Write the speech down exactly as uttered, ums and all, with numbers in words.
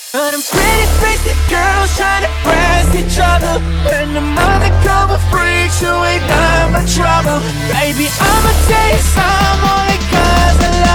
But I'm pretty crazy girls trying to impress each other, and I'm undercover freaks who ain't none but trouble. Baby, I'ma tell you some only cause I love